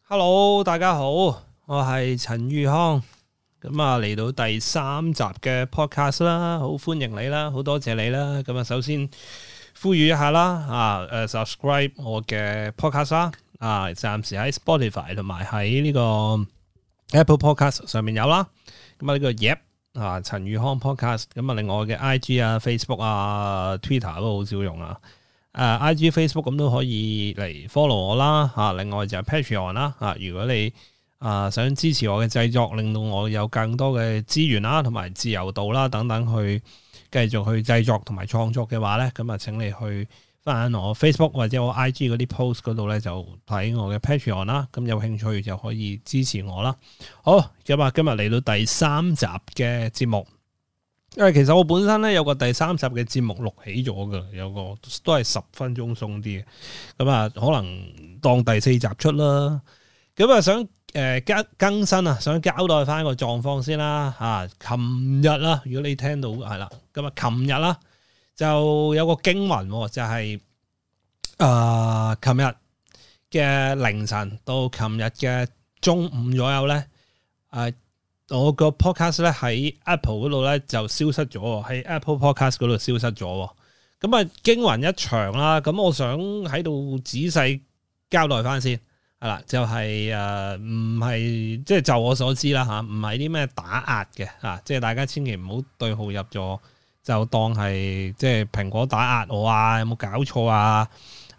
Hello，大家好，我係陳宇康，咁啊嚟到第3集嘅 podcast 啦，好歡迎你啦，好多謝你啦。咁啊，首先呼籲一下啦，subscribe 我嘅 podcast 啦，暫時喺 Spotify 同埋喺呢個 Apple Podcast 上面有啦。咁啊呢個 Yep 陳宇康 podcast， 咁啊另外嘅 IG 啊、Facebook 啊、Twitter 都好少用啊。IG Facebook 咁都可以嚟 follow 我啦，另外就係 Patreon 啦，如果你想支持我嘅製作，令到我有更多嘅資源啦，同埋自由度啦等等，去繼續去製作同埋創作嘅話咧，咁啊請你去翻我 Facebook 或者我 IG 嗰啲 post 嗰度咧，就睇我嘅 Patreon 啦，咁有興趣就可以支持我啦。好，咁啊今日嚟到第3集嘅節目。因為其實我本身咧有個第3集嘅節目錄起咗噶，有個都係10分鐘鬆啲嘅，咁啊可能當第4集出啦。咁啊想更新啊，想交代翻個狀況先啦。琴日啦，如果你聽到係啦，咁啊琴日啦就有個驚魂，就係琴日嘅凌晨到琴日嘅中午左右咧，我個 podcast 咧喺 Apple 嗰度咧就消失咗，喺 Apple Podcast 嗰度消失咗。咁啊驚魂一場啦。咁我想喺度仔細交代翻先，係啦，就係唔係即係就我所知啦吓，唔係啲咩打壓嘅吓，即係大家千祈唔好對號入座，就當係即係蘋果打壓我啊，有冇搞錯啊？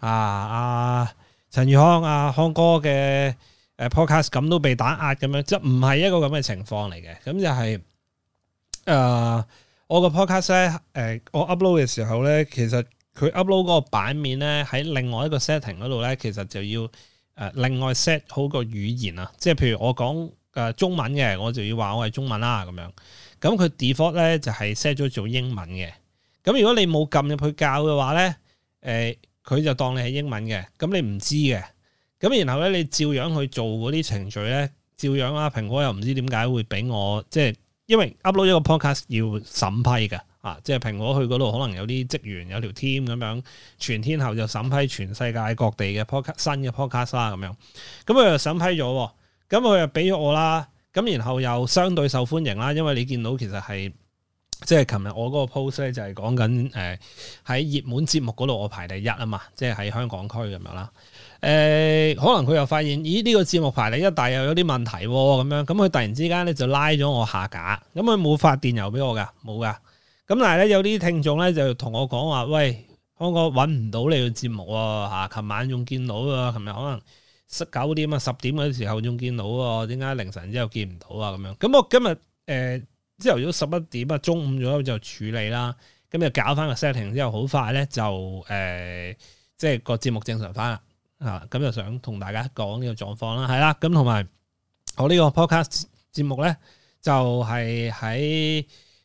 陳宇康康哥嘅podcast 咁都被打壓咁樣，即係唔係一個咁嘅情況嚟嘅。咁就係我個 podcast 咧，我 upload 嘅時候咧，其實佢 upload 嗰個版面咧喺另外一個 setting 嗰度咧，其實就要另外 set 好個語言啊。即係譬如我講中文嘅，我就要話我係中文啦咁樣。咁佢 default 咧就係 set 咗做英文嘅。咁如果你冇撳入去教嘅話咧，佢就當你係英文嘅，咁你唔知嘅。咁然後咧，你照樣去做嗰啲程序咧，照樣啦。蘋果又唔知點解會俾我，即係因為 upload 一個 podcast 要審批嘅，即係蘋果去嗰度可能有啲職員有條 team 咁樣，全天候就審批全世界各地嘅 podcast 新嘅 podcast 啦咁樣。咁佢又審批咗，咁佢又俾咗我啦。咁然後又相對受歡迎啦，因為你見到其實係即係琴日我嗰個 post 咧就係講緊喺熱門節目嗰度我排第一啊嘛，即係喺香港區咁樣啦。可能佢又發現，咦呢個節目排第一，但又有啲問題咁樣，咁佢突然之間咧就拉咗我下架，咁佢冇發電郵俾我噶，冇噶。咁但係咧有啲聽眾咧就同我講話，喂，康哥搵唔到你個節目喎，琴晚仲見到啊，琴日可能9點啊10點嗰時候仲見到啊，點解凌晨之後見唔到啊？咁樣，咁我今日朝頭早11點啊，中午左右就處理啦，咁就搞翻個 setting 之後，好快咧就即係個節目正常翻啦。咁就想同大家講呢個狀況啦，係啦，咁同埋我呢個 podcast 節目咧，就係喺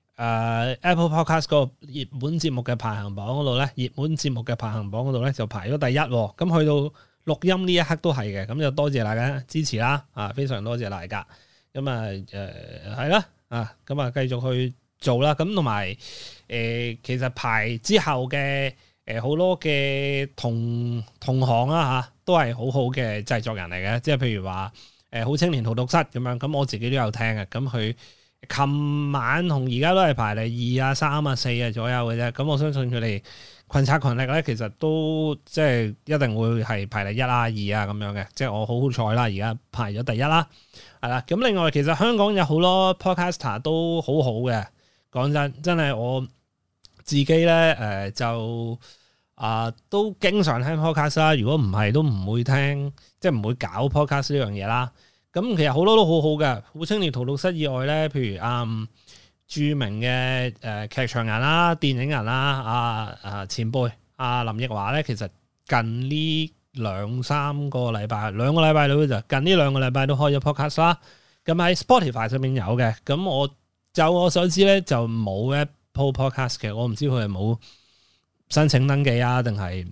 Apple Podcast 個熱門節目嘅排行榜嗰度咧，熱門節目嘅排行榜嗰度咧就排咗第一，咁去到錄音呢一刻都係嘅，咁就多謝大家支持啦，非常多謝大家，咁係啦，咁繼續去做啦，咁同埋其實排之後嘅。好多嘅同行啦都係好好嘅製作人嚟嘅，即係譬如話好青年荼毒室咁樣，咁我自己都有聽嘅，咁佢琴晚同而家都係排第2、3、4左右嘅啫，咁我相信佢哋群策群力咧，其實都即係一定會係排第1、2咁樣嘅，即係我好好彩啦，而家排咗第一啦，係啦，咁另外其實香港有好多 podcaster 都好好嘅，講真係我自己咧就都經常聽 podcast 啦，如果唔係都唔會聽，即係唔會搞 podcast 呢樣嘢啦。咁其實好多都好好嘅，好青年荼毒室以外咧，譬如著名嘅劇場人啦、電影人啦，前輩林奕華咧，其實近呢2-3個禮拜，兩個禮拜到就近呢2個禮拜都開咗 podcast 啦。咁喺 Spotify 上面有嘅，咁就我所知咧就冇 Apple Podcast 嘅，我唔知佢係冇申請登記啊，定係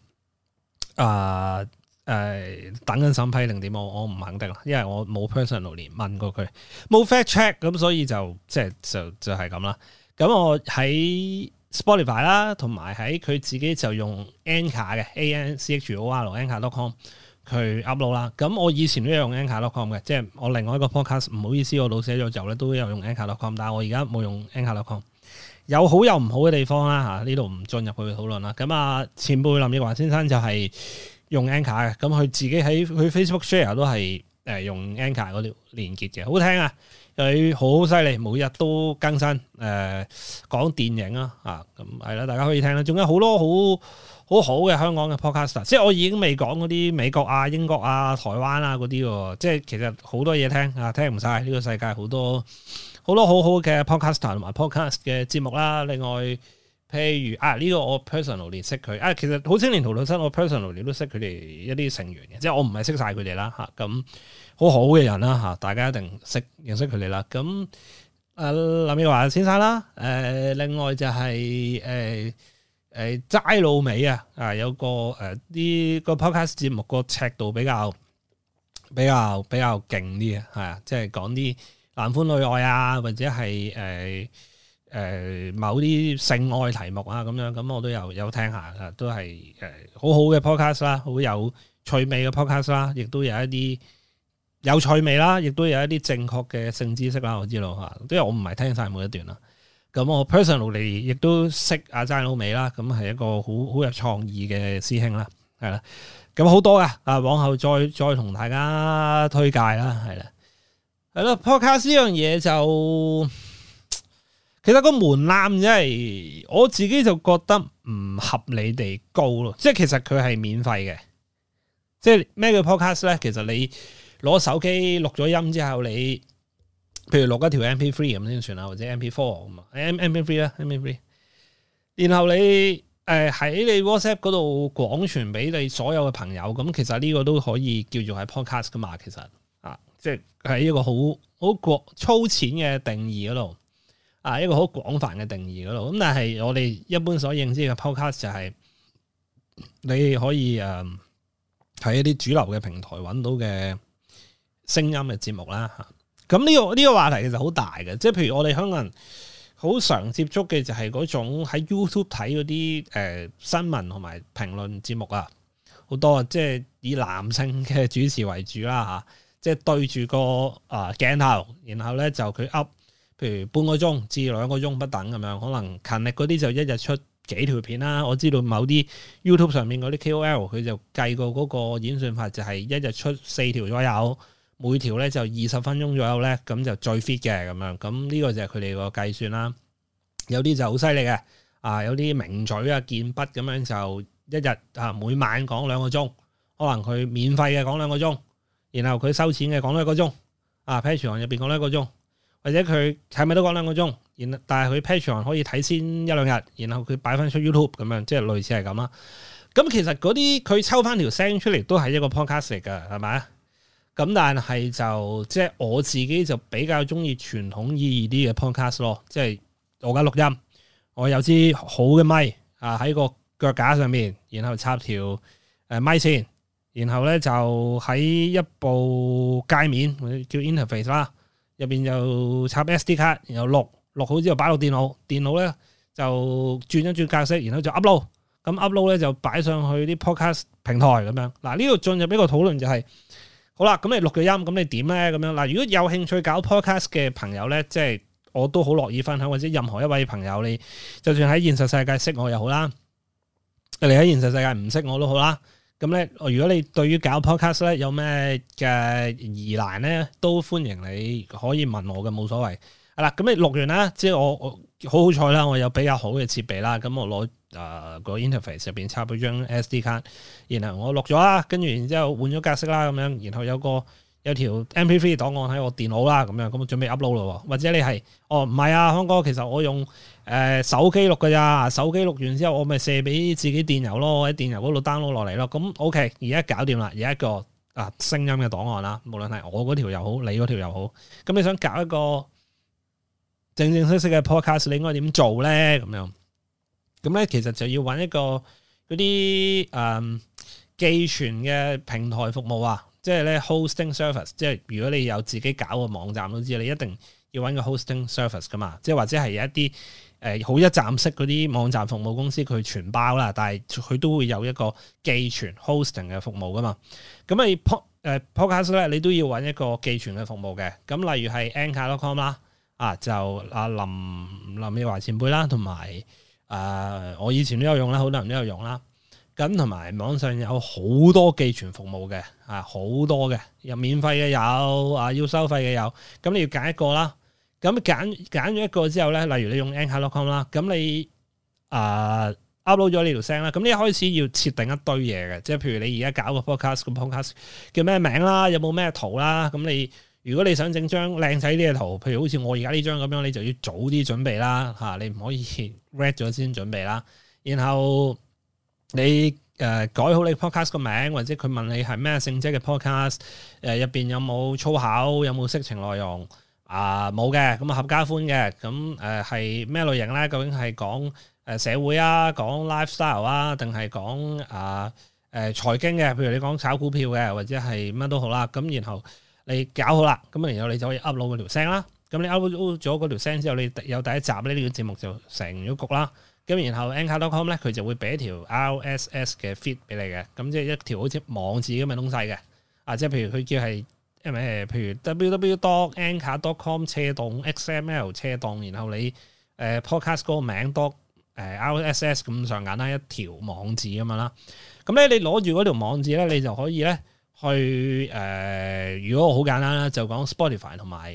等緊審批定點？我唔肯定啦，因為我冇 personally 問過佢，冇 fact check， 咁所以就即係就係咁啦。咁我喺 Spotify 啦，同埋喺佢自己就用 Anchor 嘅 ANCHOR Anchor.com 佢 upload 啦。咁我以前都有用 Anchor.com 嘅，即係我另外一個 podcast 唔好意思，我老寫咗就咧都有用 Anchor.com， 但係我而家冇用 Anchor.com。有好有唔好嘅地方啦嚇，呢度唔進入去討論啦。咁啊，前輩林奕華先生就係用 Anchor 嘅，咁佢自己喺佢 Facebook share 都係用 Anchor 嗰條連結嘅，好聽啊！佢好犀利，每日都更新講電影啊咁係啦，大家可以聽啦。仲有好多好嘅香港嘅 podcaster， 即係我已經未講嗰啲美國啊、英國啊、台灣啊嗰啲喎，即係其實好多嘢聽啊，聽唔晒呢個世界好多好好嘅 podcaster 同埋 podcast 嘅節目啦。另外譬如呢個我 personally 識佢其實好青年荼毒室我 personally 都識佢哋一啲成員嘅，即係我唔係識晒佢哋啦咁好好嘅人啦大家一定認識佢哋啦。咁林奕華先生啦，另外就係齋老味有個啲個 podcast 節目個尺度比較勁啲即係講啲男歡女愛啊，或者係某啲性愛題目啊咁樣，咁我都有聽下都係好好嘅 podcast 啦，好有趣味嘅 podcast 啦，亦都有一啲有趣味啦，亦都有一啲正確嘅性知識啦，我知道因為我唔係聽晒每一段啦。咁我 personally 亦都識阿齋老味啦，咁係一個好有創意嘅師兄啦，係啦。咁好多往後再同大家推介啦，係啦。係咯 podcast 呢樣嘢就其實個門檻真係我自己就覺得唔合理地高咯，即係其實佢係免費嘅，即係咩叫 podcast 咧？其實你攞手機錄咗音之後，你譬如錄一條 MP3 咁先算啦，或者 MP4 咁MP3 啦 MP3， 然後你喺你 WhatsApp 嗰度廣傳俾你所有嘅朋友，咁其實呢個都可以叫做係 podcast 噶嘛，其實即係喺一個好粗淺嘅定義嗰度一個好廣泛嘅定義嗰度。咁但係我哋一般所認知嘅 podcast 就係你可以喺一啲主流嘅平台揾到嘅聲音嘅節目啦。咁呢個話題其實好大嘅，即係譬如我哋香港人好常接觸嘅就係嗰種喺 YouTube 睇嗰啲新聞同埋評論節目好多即係以男性嘅主持為主啦即係對住個鏡頭，然後咧就佢 up，譬如半個鐘至2個鐘不等咁樣，可能勤力嗰啲就一日出幾條片啦。我知道某啲 YouTube 上面嗰啲 KOL 佢就計過嗰個演算法，就係一日出4條左右，每條咧就20分鐘左右咧，咁就最 fit 嘅咁樣。咁呢個就係佢哋個計算啦。有啲就好犀利嘅，有啲名嘴健筆咁樣就一日每晚講2個鐘，可能佢免費嘅講2個鐘。然後佢收錢嘅講1個鐘，Patreon 入邊講1個鐘，或者佢係咪都講2個鐘？但係佢 Patreon 可以睇先1-2日，然後佢擺翻出 YouTube 咁樣，即係類似係咁啦。咁其實嗰啲佢抽翻條聲出嚟都係一個 podcast 嚟㗎，係咪？咁但係就即係我自己就比較中意傳統意義啲嘅 podcast 咯，即係我而家錄音，我有支好嘅咪喺個腳架上面，然後插條咪線。然後咧就喺一部界面叫 interface 啦，入邊就插 SD 卡，然後錄好之後擺落電腦咧就轉一轉格式，然後就 upload，咁 upload 咧就擺上去啲 podcast 平台咁樣。嗱，呢度進入一個討論就係，好啦，咁你錄咗音，咁你點咧？咁樣嗱，如果有興趣搞 podcast 嘅朋友咧，即係我都好樂意分享，或者任何一位朋友，你就算喺現實世界識我又好啦，你喺現實世界唔識我都好啦。咁咧，如果你對於搞 podcast 咧有咩嘅疑難咧，都歡迎你可以問我嘅，冇所謂。係啦，咁你錄完啦，即係我好彩啦，我有比較好嘅設備啦，咁我攞個 interface 入邊插咗張 SD 卡，然後我錄咗啦，跟住然之後換咗格式啦，咁樣，然後有條 MP3 檔案喺我電腦啦，咁樣，咁我準備 upload 咯。或者你係唔係康哥，其實我用手機錄㗎咋，手機錄完之後我咪射俾自己電郵咯，喺電郵嗰度 download 落嚟咯。咁 OK，而家搞掂啦，有一個聲音嘅檔案啦，無論係我嗰條又好，你嗰條又好。咁你想搞一個正式嘅 podcast， 你應該點做咧？咁咧其實就要揾一個嗰啲寄存嘅平台服務即係咧 hosting service， 即係如果你有自己搞個網站都知，你一定要揾個 hosting service 噶嘛，即係或者係有一啲好一站式嗰啲網站服務公司佢全包啦，但係佢都會有一個寄存 hosting 嘅服務噶嘛。咁你podcast 咧，你都要揾一個寄存嘅服務嘅。咁例如係 Anchor.com 啦，就阿林奕華前輩啦，同埋我以前都有用啦，好多人都有用啦。咁同埋網上有好多寄存服務嘅，好多嘅，有免費嘅有，要收費嘅有。咁你要揀一個啦。咁揀咗一個之後咧，例如你用 Anchor.com 啦，咁你upload 咗呢條聲啦，咁你一開始要設定一堆嘢嘅，即係譬如你而家搞個 podcast，個 podcast 叫咩名啦，有冇咩圖啦，咁你如果你想整張靚仔啲嘅圖，譬如好似我而家呢張咁樣，你就要早啲準備啦，你唔可以 read 咗先準備啦，然後你改好你 podcast 個名，或者佢問你係咩性質嘅 podcast，入邊有冇粗口，有冇色情內容。冇嘅，咁合家歡嘅，咁係咩類型咧？究竟係講社會啊，講 lifestyle 啊，定係講財經嘅？譬如你講炒股票嘅，或者係乜都好啦。咁然後你搞好啦，咁然後你就可以 upload 嗰條聲啦。咁你 upload 咗嗰條聲之後，你有第一集咧，呢個節目就成咗局啦。咁然後 Anchor.com 咧，佢就會俾一條 RSS 嘅 feed 俾你嘅，咁即係一條好似網址咁嘅東西嘅。即係譬如佢叫係。譬如 www.anchor.com/xml/，然後你podcast 嗰個名 RSS 咁上緊啦，一條網址咁樣啦。咁咧你攞住嗰條網址咧，你就可以咧去如果我好簡單啦，就講 Spotify 同埋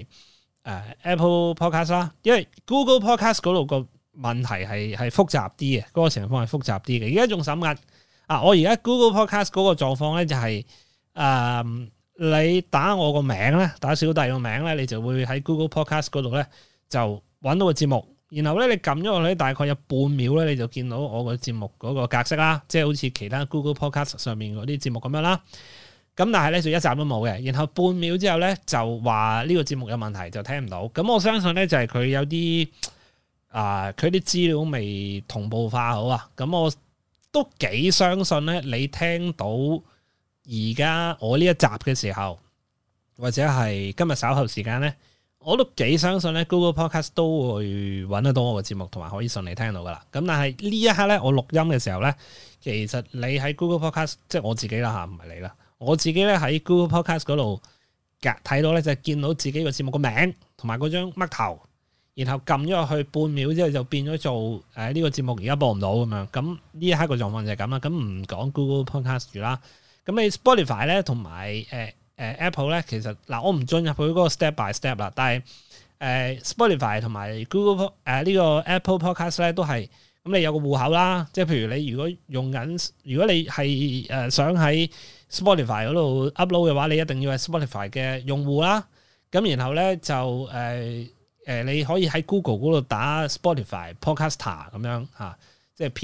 Apple Podcast 啦。因為 Google Podcast 嗰度個問題係複雜啲嘅，嗰個情況係複雜啲嘅。而家仲審緊我而家 Google Podcast 嗰個狀況咧就係你打我個名咧，打小弟個名咧，你就會喺 Google Podcast 嗰度咧就揾到個節目，然後咧你撳咗落去大概有半秒咧，你就見到我個節目嗰個格式啦，即係好似其他 Google Podcast 上面嗰啲節目咁樣啦。咁但係咧就一集都冇嘅，然後半秒之後咧就話呢個節目有問題，就聽唔到。咁我相信咧就係佢有啲佢啲資料未同步化好啊。咁我都幾相信咧，你聽到而家我呢一集嘅時候，或者係今日稍後時間咧，我都幾相信咧 Google Podcast 都會揾得到我個節目，同埋可以順利聽到噶啦。咁但係呢一刻咧，我錄音嘅時候咧，其實你喺 Google Podcast， 即係我自己啦嚇，唔係你啦，我自己咧喺 Google Podcast 嗰度睇到咧，就係見到自己個節目個名同埋嗰張嘜頭，然後撳咗落去半秒之後就變咗做呢個節目而家播唔到咁樣。咁呢一刻個狀況就係咁啦。咁唔講 Google Podcast 住啦。咁你 Spotify 咧同埋Apple 咧，其實我唔進入去嗰個 step by step 啦，但係Spotify 同埋 Google 呢個 Apple Podcast 咧都係咁，你有個戶口啦，即係譬如你如果你係想喺 Spotify 嗰度 upload 嘅話，你一定要係 Spotify 嘅用戶啦。咁然後咧就你可以喺 Google 嗰度打 Spotify Podcaster 咁樣嚇。即係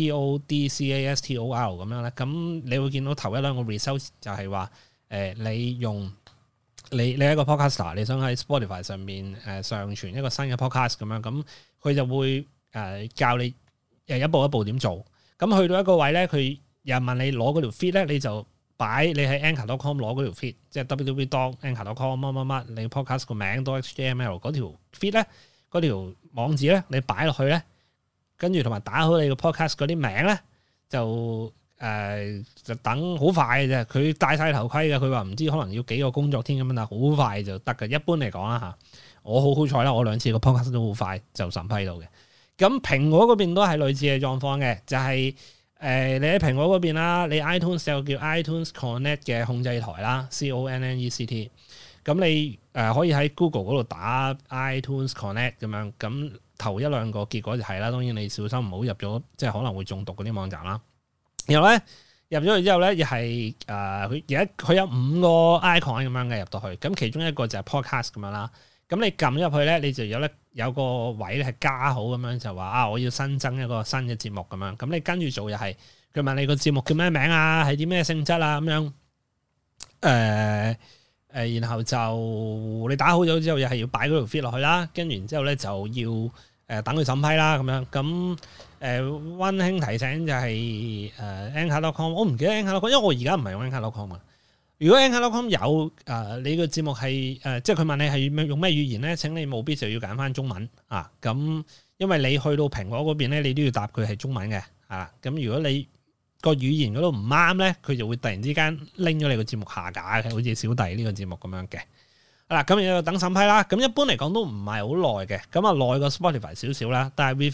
Podcastor 咁樣咧，咁你會見到頭一兩個 result 就係話，你用你係一個 podcaster， 你想喺 Spotify 上面上傳一個新嘅 podcast 咁樣，咁佢就會教你一步一步點做。咁去到一個位咧，佢又問你攞嗰條 feed 咧，你就擺你喺 Anchor.com 攞嗰條 feed，即係 www.anchor.com 乜乜乜，你 podcast 個名 .html 嗰條 feed 咧，嗰條網址咧，你擺落去咧。跟住同埋打好你個 podcast 嗰啲名咧，就等好快嘅啫。佢戴晒頭盔嘅，佢話唔知可能要幾個工作天咁樣，但係好快就得嘅。一般嚟講啦嚇，我好彩啦，我2次個 podcast 都好快就審批到嘅。咁蘋果嗰邊都係類似嘅狀況嘅，就係你喺蘋果嗰邊啦，你 iTunes 有叫 iTunes Connect 嘅控制台啦，CONNECT。咁你可以喺 Google 嗰度打 iTunes Connect 咁樣，咁頭一兩個結果就係啦。當然你小心唔好入咗，即係可能會中毒嗰啲網站啦。然後咧入咗去之後咧，又係佢有5個 icon 咁樣嘅入到去，咁其中一個就係 podcast 咁樣啦。咁你撳入去咧，你就有個位咧係加號咁樣，就話我要新增一個新嘅節目咁樣。咁你跟住做又係佢問你個節目叫咩名啊，係啲咩性質啊咁樣。然後就你打好咗之後，又係要擺嗰條 feed 落去啦，跟住然之後咧就要等佢審批啦咁樣。咁溫馨提醒就係Anchor.com， 我唔記得 Anchor.com， 因為我而家唔係用 Anchor.com 啊。 如果 Anchor.com 有你個節目係即係佢問你係用咩語言咧？請你務必就要揀翻中文啊！咁因為你去到蘋果嗰邊咧，你都要答佢係中文嘅啊！咁如果你個語言嗰度唔啱咧，佢就會突然之間拎咗你個節目下架嘅，好似小弟呢個節目咁樣嘅。咁要等審批啦。咁一般嚟講都唔係好耐嘅，咁啊耐過 Spotify 少少啦。但係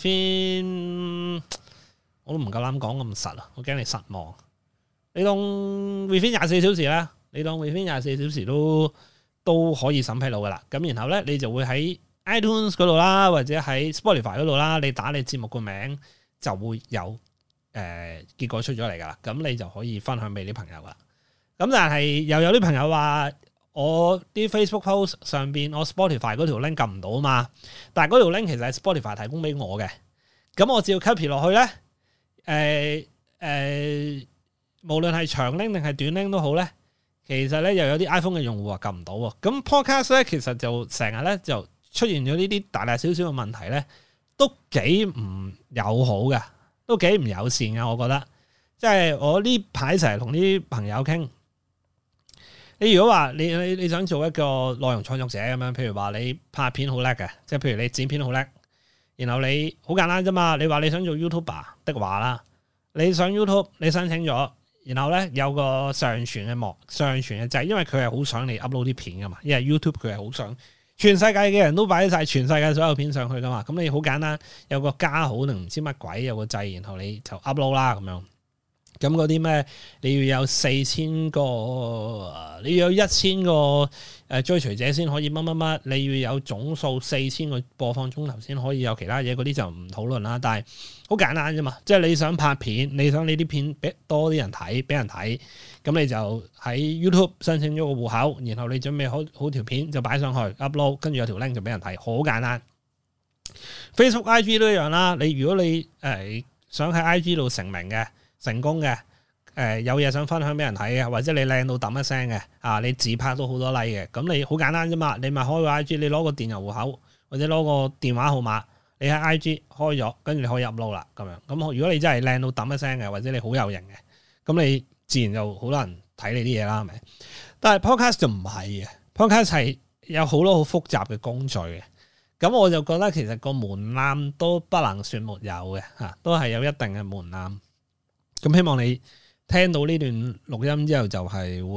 within 我都唔夠膽講咁實啊，我驚你失望。你當 within 24小時啦，你當 within 24小時都可以審批到噶啦。咁然後咧，你就會喺 iTunes 嗰度啦，或者喺 Spotify 嗰度啦，你打你節目個名就會有結果出咗嚟噶啦。咁你就可以分享俾啲朋友啦。咁但係又有啲朋友話，我啲 Facebook post 上邊我 Spotify 嗰條 link 撳唔到啊嘛。但係嗰條 link 其實係 Spotify 提供俾我嘅。咁我只要 copy 落去咧，無論係長 link 定係短 link 都好咧，其實咧又有啲 iPhone 嘅用戶話撳唔到喎。咁 podcast 咧其實就成日咧就出現咗呢啲大大小小嘅問題咧，都幾唔友好嘅，都幾唔友善嘅。我覺得，即係我呢排成日同啲朋友傾，你如果話你想做一個內容創作者咁樣，譬如話你拍片好叻嘅，即係譬如你剪片好叻，然後你好簡單啫嘛，你話你想做 YouTuber 的話啦，你上 YouTube 你申請咗。然後咧有個上傳嘅掣，因為佢係好想你 upload 啲片噶嘛，因為 YouTube 佢係好想全世界嘅人都擺晒全世界所有片上去噶嘛，咁你好簡單有個加號定唔知乜鬼有個掣，然後你就 upload 啦咁樣。咁嗰啲咩你要有4000個，你要有1000個追隨者先可以乜乜乜，你要有總數4000個播放鐘頭先可以有其他嘢，嗰啲就唔討論啦。但係好簡單啫嘛，即係你想拍片，你想你啲片俾多啲人睇，俾人睇，咁你就喺 YouTube 申請咗個戶口，然後你準備好條片就擺上去 upload， 跟住有條 link 就俾人睇，好簡單。Facebook、IG 都一樣啦。你如果你想喺 IG 度成名嘅，成功嘅，有嘢想分享俾人睇嘅，或者你靚到揼一聲嘅，你自拍都好多 like 嘅，咁你好簡單啫嘛，你咪開個 IG，你攞個電郵戶口或者攞個電話號碼，你喺 IG 開咗，跟住你可以 upload 啦，咁樣。咁如果你真係靚到揼一聲嘅，或者你好有型嘅，咁你自然就好多人睇你啲嘢啦，係咪？但係 podcast 就唔係嘅 ，podcast 係有好多好複雜嘅工序嘅，咁我就覺得其實個門檻都不能算沒有嘅，都係有一定嘅門檻。咁希望你聽到呢段錄音之後，就係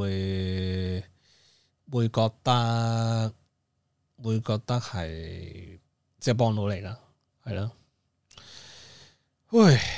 會覺得係即係幫到你啦，係咯。喂，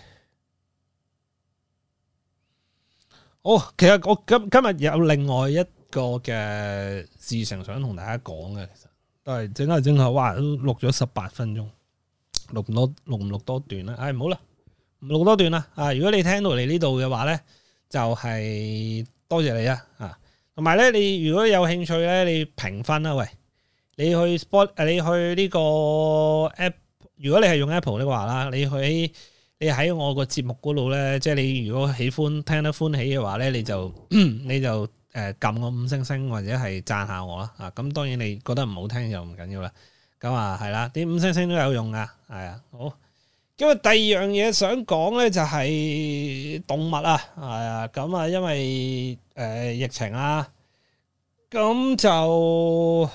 好，其實我今日有另外一個嘅事情想同大家講嘅，其實都係整下，哇，都錄咗18分鐘，錄唔錄多段啦？唔好啦。唔錄多段啦，如果你聽到嚟呢度嘅話咧，就係多謝你啊，同埋咧，你如果有興趣咧，你評分啦，喂，你去呢個 app， 如果你係用 Apple 的話啦，你喺我個節目嗰度咧，即係你如果喜歡聽得歡喜嘅話咧，你就撳個5星星或者係讚下我啦，咁當然你覺得唔好聽就唔緊要啦，咁係啦，啲5星星都有用噶，係啊，好。因為第二樣嘢想講咧，就係動物啊，係啊，咁因為疫情啊，咁就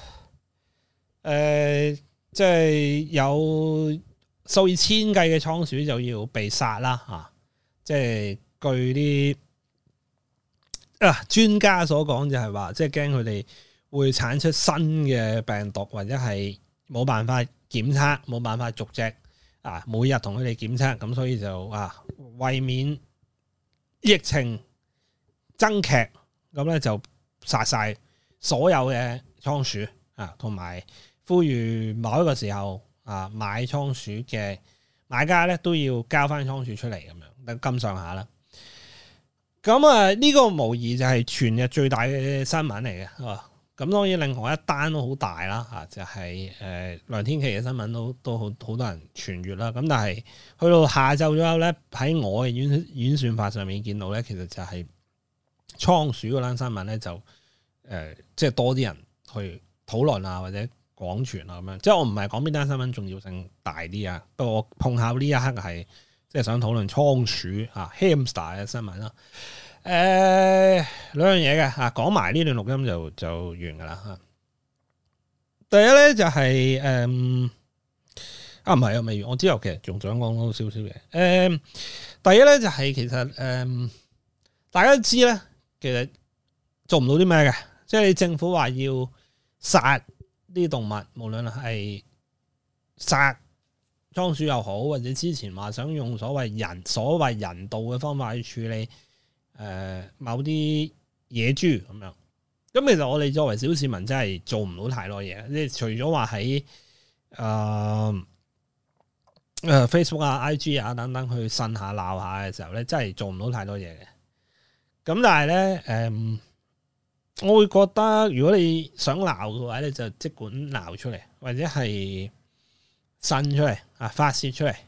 即係有數以千計嘅倉鼠就要被殺啦，即係據啲專家所講，就係話，即係驚佢哋會產出新嘅病毒，或者係冇辦法檢測，冇辦法逐隻。每日同佢哋檢測，咁所以就為免疫情增劇，咁咧就殺晒所有嘅倉鼠同埋呼籲某一個時候買倉鼠嘅買家咧都要交翻倉鼠出嚟咁樣，咁上下啦。咁呢個無疑就係全日最大嘅新聞嚟嘅。咁當然另外一單都好大啦，就係梁天琦嘅新聞都好多人傳閱啦。咁但係去到下晝左右咧，喺我嘅演算法上面見到咧，其實就係倉鼠嗰單新聞咧，就即係多啲人去討論啊，或者廣傳啊咁樣。即係我唔係講邊單新聞重要性大啲啊，不過我碰巧呢一刻係即係想討論倉鼠hamster 嘅新聞啦。 兩樣嘢嘅嚇，講埋呢段錄音就完噶啦嚇。第一咧就係唔係啊未完，我之後其實仲想講多少少嘢。第一咧就係其實大家都知咧，其實做唔到啲咩嘅，即係你政府話要殺啲動物，無論係殺倉鼠又好，或者之前話想用所謂人道嘅方法去處理某啲野豬咁樣。咁其實我哋作為小市民真係做唔到太多嘢，即係除咗話喺Facebook 啊、IG 啊等等去呻下鬧下嘅時候咧，真係做唔到太多嘢嘅。咁但係咧，我會覺得如果你想鬧嘅話咧，就即管鬧出嚟，或者係呻出嚟啊，發洩出嚟。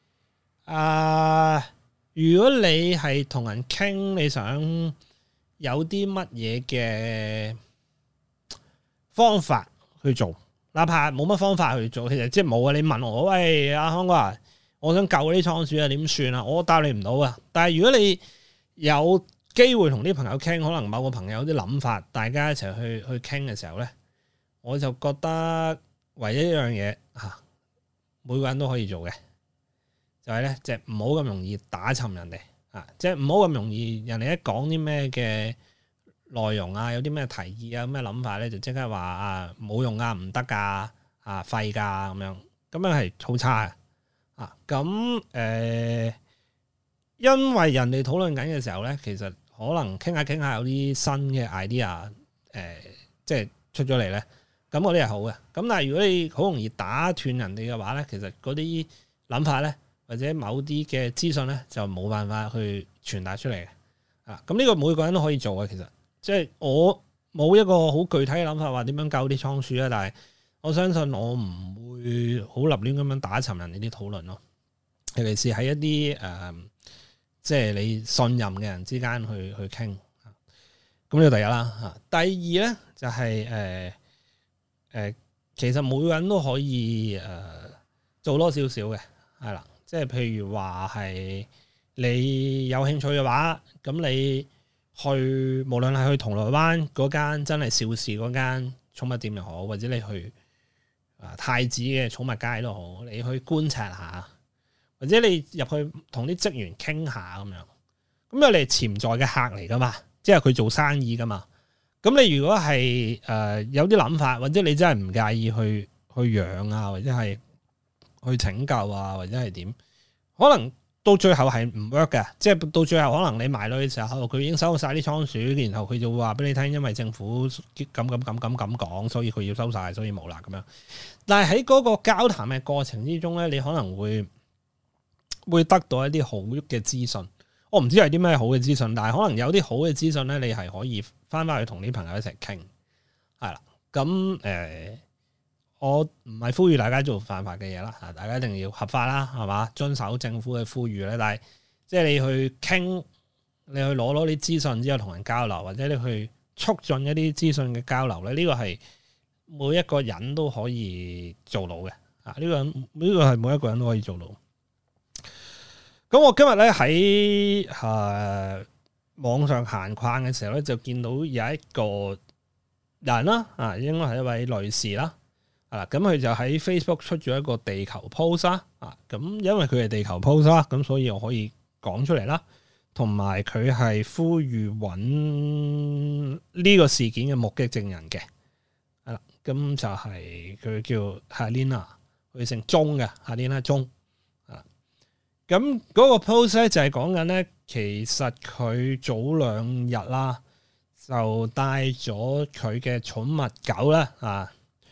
如果你係同人傾，你想有啲乜嘢嘅方法去做，哪怕冇乜方法去做，其實即係冇啊！你問我，喂，阿康哥啊，我想救啲倉鼠啊，點算啊？我答你唔到啊！但係如果你有機會同啲朋友傾，可能某個朋友有啲諗法，大家一齊去傾嘅時候咧，我就覺得唯一一樣嘢嚇，每個人都可以做嘅，就係咧，即係唔好咁容易打沉人哋。即係唔好咁容易，人哋一講啲咩嘅內容啊，有啲咩提議啊，咩諗法咧，就即刻話冇用啊，唔得噶，廢噶咁樣，咁樣係好差嘅。咁因為人哋討論緊嘅時候咧，其實可能傾下傾下有啲新嘅 idea，即係出咗嚟咧，咁嗰啲係好嘅。咁但係如果你好容易打斷人哋嘅話咧，其實嗰啲諗法咧，或者某啲嘅資訊咧，就冇辦法去傳達出嚟嘅。咁呢個每個人都可以做嘅。其實即係我冇一個好具體嘅諗法話點樣救啲倉鼠啊，但係我相信我唔會好立亂咁樣打沉人哋啲討論咯。尤其是喺一啲即係你信任嘅人之間去傾。咁呢個第一啦。第二咧就係其實每個人都可以做多少少嘅，係啦。即係譬如話係你有興趣嘅話，咁你去無論係去銅鑼灣嗰間真係邵氏嗰間寵物店又好，或者你去太子嘅寵物街都好，你去觀察下，或者你入去同啲職員傾下咁樣，咁因為你係潛在嘅客嚟噶嘛，即係佢做生意噶嘛。咁你如果係有啲諗法，或者你真係唔介意去養啊，或者係去拯救啊，或者係點？可能到最後係唔 work 嘅，即係到最後可能你埋落去嘅時候，佢已經收晒啲倉鼠，然後佢就會話俾你聽，因為政府咁講，所以佢要收晒，所以冇啦咁樣。但係喺嗰個交談嘅過程之中咧，你可能會得到一啲好嘅資訊。我唔知係啲咩好嘅資訊，但係可能有啲好嘅資訊咧，你係可以翻去同啲朋友一齊傾，係啦。咁我唔係呼籲大家做犯法嘅嘢啦，大家一定要合法啦，係嘛？遵守政府嘅呼籲咧。但係即係你去傾，你去攞啲資訊之後同人交流，或者你去促進一啲資訊嘅交流咧，呢個係每一個人都可以做到嘅。呢個係每一個人都可以做到。咁我今日咧喺網上閒逛嘅時候咧，就見到有一個人啦，應該係一位女士啦。咁佢就喺 Facebook 出咗一個地球 post 啦，咁因為佢係地球 post 啦，咁所以我可以講出嚟啦。同埋佢係呼籲揾呢個事件嘅目擊證人嘅，係啦，咁就係佢叫 Helena， 佢姓鐘嘅 Helena 鐘，咁嗰個 post 咧就係講緊咧，其實佢早2日啦，就帶咗佢嘅寵物狗啦，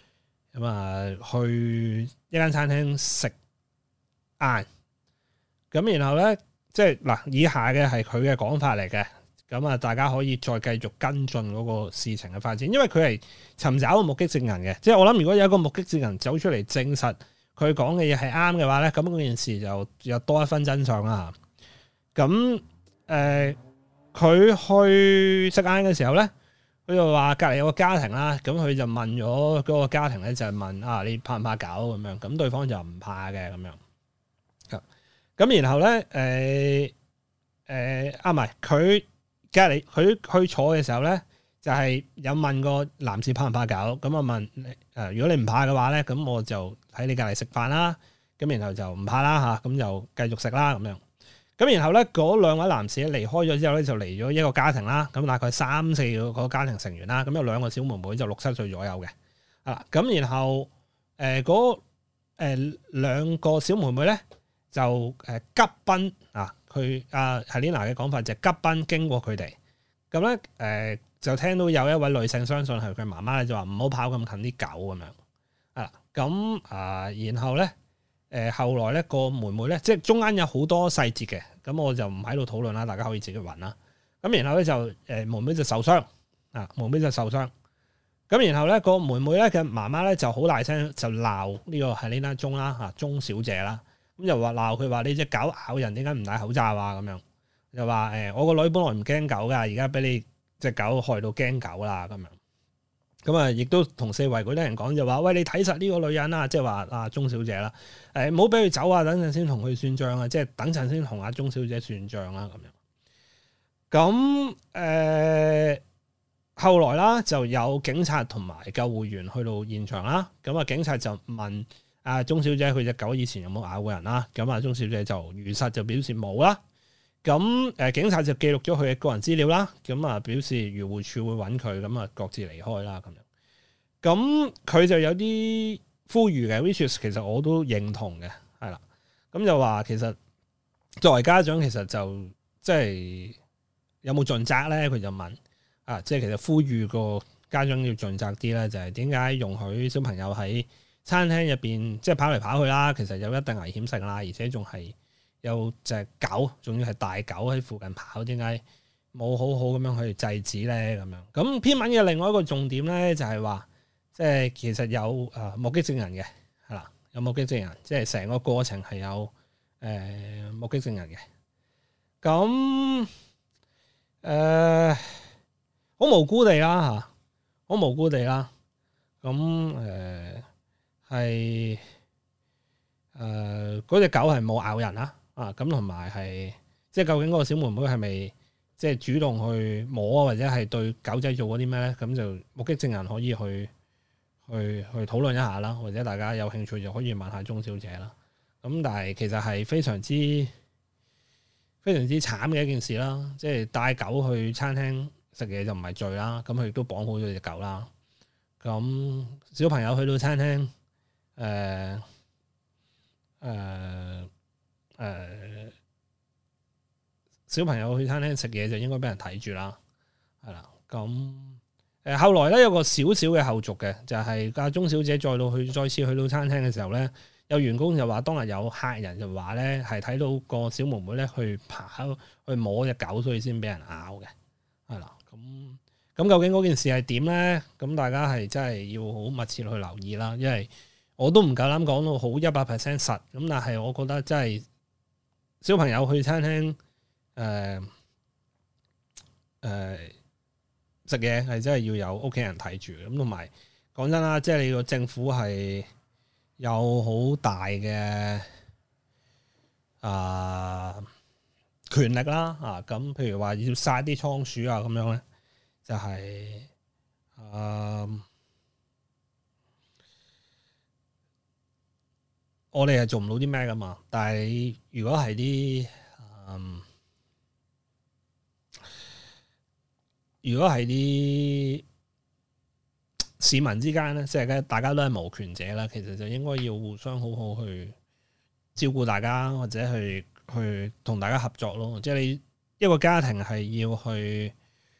去一間餐廳食晏，咁然後咧，即係嗱，以下嘅係佢嘅講法嚟嘅，咁大家可以再繼續跟進嗰個事情嘅發展，因為佢係尋找個目擊證人嘅，即係我諗如果有一個目擊證人走出嚟證實佢講嘅嘢係啱嘅話咧，咁嗰件事就有多一分真相啦。咁佢去食晏嘅時候咧，佢就話隔離有個家庭啦，咁佢就問咗嗰個家庭咧，就係問你怕唔怕狗咁樣？咁對方就唔怕嘅咁樣。咁然後咧，唔係佢隔離佢去坐嘅時候咧，就係有問個男士怕唔怕狗，咁啊問如果你唔怕嘅話咧，咁我就喺你隔離食飯啦，咁然後就唔怕啦嚇，咁就繼續食啦咁樣。咁然後咧，嗰兩位男士離開咗之後咧，就嚟咗一個家庭啦，咁大概3-4個家庭成員啦，咁有2個小妹妹就6-7歲左右嘅，咁然後嗰2個小妹妹咧就急奔佢Helena 嘅講法就係急奔經過佢哋，咁咧就聽到有一位女性相信係佢媽媽咧，就話唔好跑咁近啲狗咁樣，咁然後咧後來咧個妹妹咧，即係中間有好多細節嘅，咁我就唔喺度討論啦，大家可以自己揾啦。咁然後咧就妹妹就受傷，妹妹就受傷。咁然後咧個妹妹咧嘅媽媽咧就好大聲就鬧呢個Helena鐘啦鐘小姐啦，咁就話鬧佢話你隻狗咬人點解唔戴口罩啊咁樣，又話我個女本來唔驚狗噶，而家俾你隻狗害到驚狗啦咁樣。咁啊，亦都同四圍嗰啲人講就話，喂，你睇實呢個女人啊，即係話阿鐘小姐啦，唔好俾佢走啊，等陣先同佢算賬啊，即係等陣先同阿鐘小姐算賬啦咁樣。咁後來啦，就有警察同埋救護員去到現場啦。咁啊，警察就問阿鐘小姐佢隻狗以前有冇咬過人啦？咁啊，鐘小姐就如實就表示冇啦。咁警察就記錄咗佢嘅個人資料啦，咁啊表示漁護署會揾佢，咁啊各自離開啦咁樣。咁佢就有啲呼籲嘅 which is 其實我都認同嘅，係啦。咁就話其實作為家長，其實就即係有冇盡責咧？佢就問即係其實呼籲個家長要盡責啲咧，就係點解容許小朋友喺餐廳入邊即係跑嚟跑去啦？其實有一定危險性啦，而且仲係有隻狗，仲要係大狗喺附近跑，點解冇好好咁樣去制止咧？咁樣咁篇文嘅另外一個重點咧，就係話，即係其實有目擊證人嘅，係啦，有目擊證人，即係成個過程係有目擊證人嘅。咁好無辜地啦嚇，好無辜地啦。咁係嗰隻狗係冇咬人啦。咁同埋係，即係究竟嗰個小妹妹係咪即係主動去摸或者係對狗仔做過啲咩咧？咁就目擊證人可以去討論一下啦，或者大家有興趣就可以問下鐘小姐啦。咁但係其實係非常之慘嘅一件事啦。即係帶狗去餐廳食嘢就唔係罪啦。咁佢亦都綁好咗隻狗啦。咁小朋友去到餐廳小朋友去餐廳食嘢就應該俾人睇住啦，係啦。咁後來咧有個少少嘅後續嘅，就係阿鐘小姐再次去到餐廳嘅時候咧，有員工就話當日有客人就話咧係睇到個小妹妹咧去摸隻狗，所以先俾人咬嘅，係啦。咁究竟嗰件事係點咧？咁大家係真係要好密切去留意啦，因為我都唔夠膽講到好100% 實，咁但係我覺得真係小朋友去餐廳食嘢係真係要有屋企人睇住，咁同埋講真啦，即係你個政府係有好大嘅權力啦，咁譬如話要殺啲倉鼠啊咁樣咧，就係我哋係做唔到啲咩噶嘛。但係如果係啲市民之間咧，即係大家都係無權者啦，其實就應該要互相好好去照顧大家，或者去同大家合作咯。即係你一個家庭係要去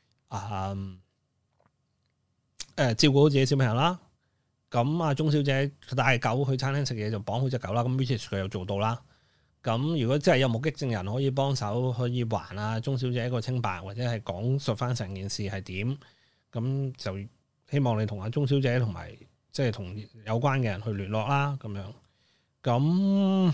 照顧好自己小朋友啦。咁阿鐘小姐佢帶狗去餐廳食嘢就綁好隻狗啦，咁 which is 佢又做到啦。咁如果真係有目擊證人可以幫手，可以還鐘小姐一個清白，或者係講述翻成件事係點，咁就希望你同阿鐘小姐同埋即係同有關嘅人去聯絡啦，咁樣。咁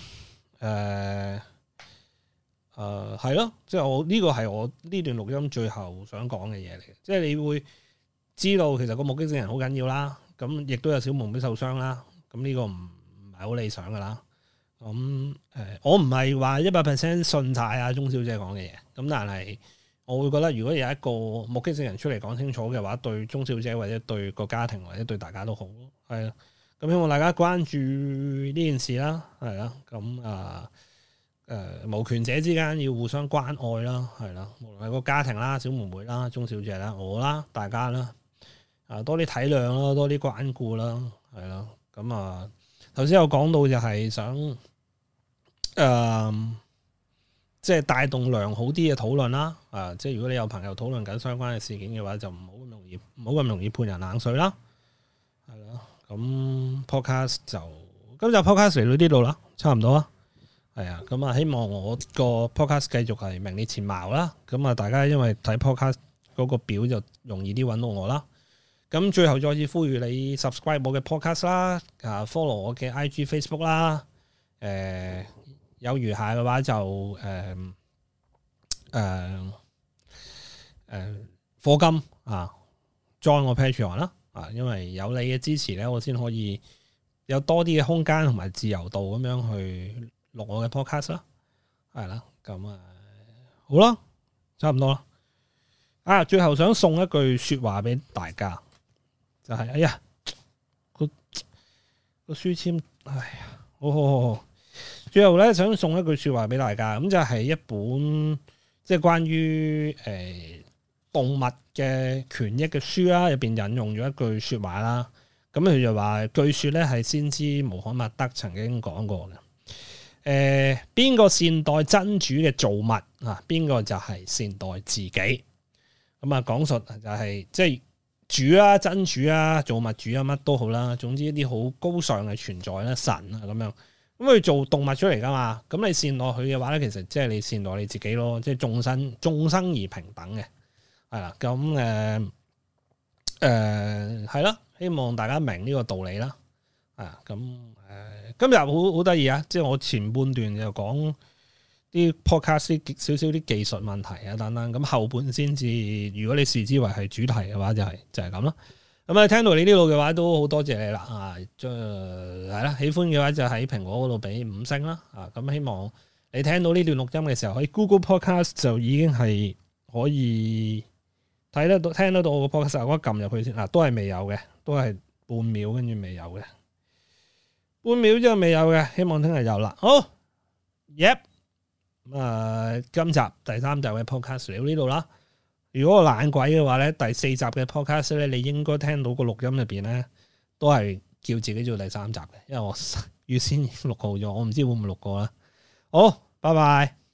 係咯，即係我呢個係我呢段錄音最後想講嘅嘢嚟嘅，即係你會知道其實個目擊證人好緊要啦，咁亦都有小妹妹受傷啦，咁呢個唔係好理想噶啦。咁我唔係話100% 信晒阿鐘小姐講嘅嘢，咁但係我會覺得如果有一個目擊證人出嚟講清楚嘅話，對鍾小姐或者對個家庭或者對大家都好，係啊。咁希望大家關注呢件事啦，係啦。咁無權者之間要互相關愛啦，係啦。無論係個家庭啦、小妹妹啦、鍾小姐啦、我啦、大家啦，多啲體諒啦，多啲關顧啦，係啦。咁頭先有講到就係想即係帶動良好啲嘅討論啦，即係如果你有朋友討論緊相關嘅事件嘅話，就唔好咁容易判人冷水啦，係啦。咁 podcast 就今集 podcast 嚟到呢度啦，差唔多啦，係啊。咁希望我個 podcast 繼續係名列前茅啦。咁大家因為睇 podcast 嗰個表就容易啲揾到我啦。咁最後再次呼籲你 subscribe 我嘅 podcast 啦，follow 我嘅 IG Facebook 啦，有餘下嘅話就課金join我 Patreon 啦，因為有你嘅支持咧，我先可以有多啲嘅空間同埋自由度咁樣去錄我嘅 podcast 啦，係啦。咁好啦，差唔多啦。最後想送一句說話俾大家，就係哎呀個書簽，哎呀好。最後咧，想送一句說話俾大家，咁就係一本即係關於動物嘅權益嘅書啦，入邊引用咗一句說話啦。咁佢就話，據說咧係先知穆罕默德曾經講過嘅。邊個善待真主嘅造物啊？邊個就係善待自己。咁講述就係即係主啊、真主啊、造物主啊，乜都好啦。總之一啲好高尚嘅存在啦，神啊咁樣。咁佢做動物出嚟噶嘛？咁你善待佢嘅話咧，其實即係你善待你自己咯。即係眾生而平等嘅，係啦。咁係啦。希望大家明呢個道理啦。咁今日好得意啊！即係我前半段就講啲 podcast 少少啲技術問題啊等等。咁後半先至，如果你視之為係主題嘅話，就係咁啦。咁聽到你呢度嘅話，都好多謝你啦。係啦，喜歡嘅話就喺蘋果嗰度俾5星啦。咁希望你聽到呢段錄音嘅時候，喺 Google Podcast 就已經係可以睇得到、聽得到我個 podcast。我撳入去先，都係未有嘅，都係半秒跟住未有嘅，半秒之後未有嘅，希望聽日有啦。好 ，Yep，今集第3集嘅 podcast 嚟到呢度啦。如果我懶鬼嘅話咧，第4集嘅 podcast 咧，你應該聽到個錄音入邊咧，都係叫自己做第3集嘅，因為我預先錄好咗，我唔知會唔會錄過啦。好，拜拜。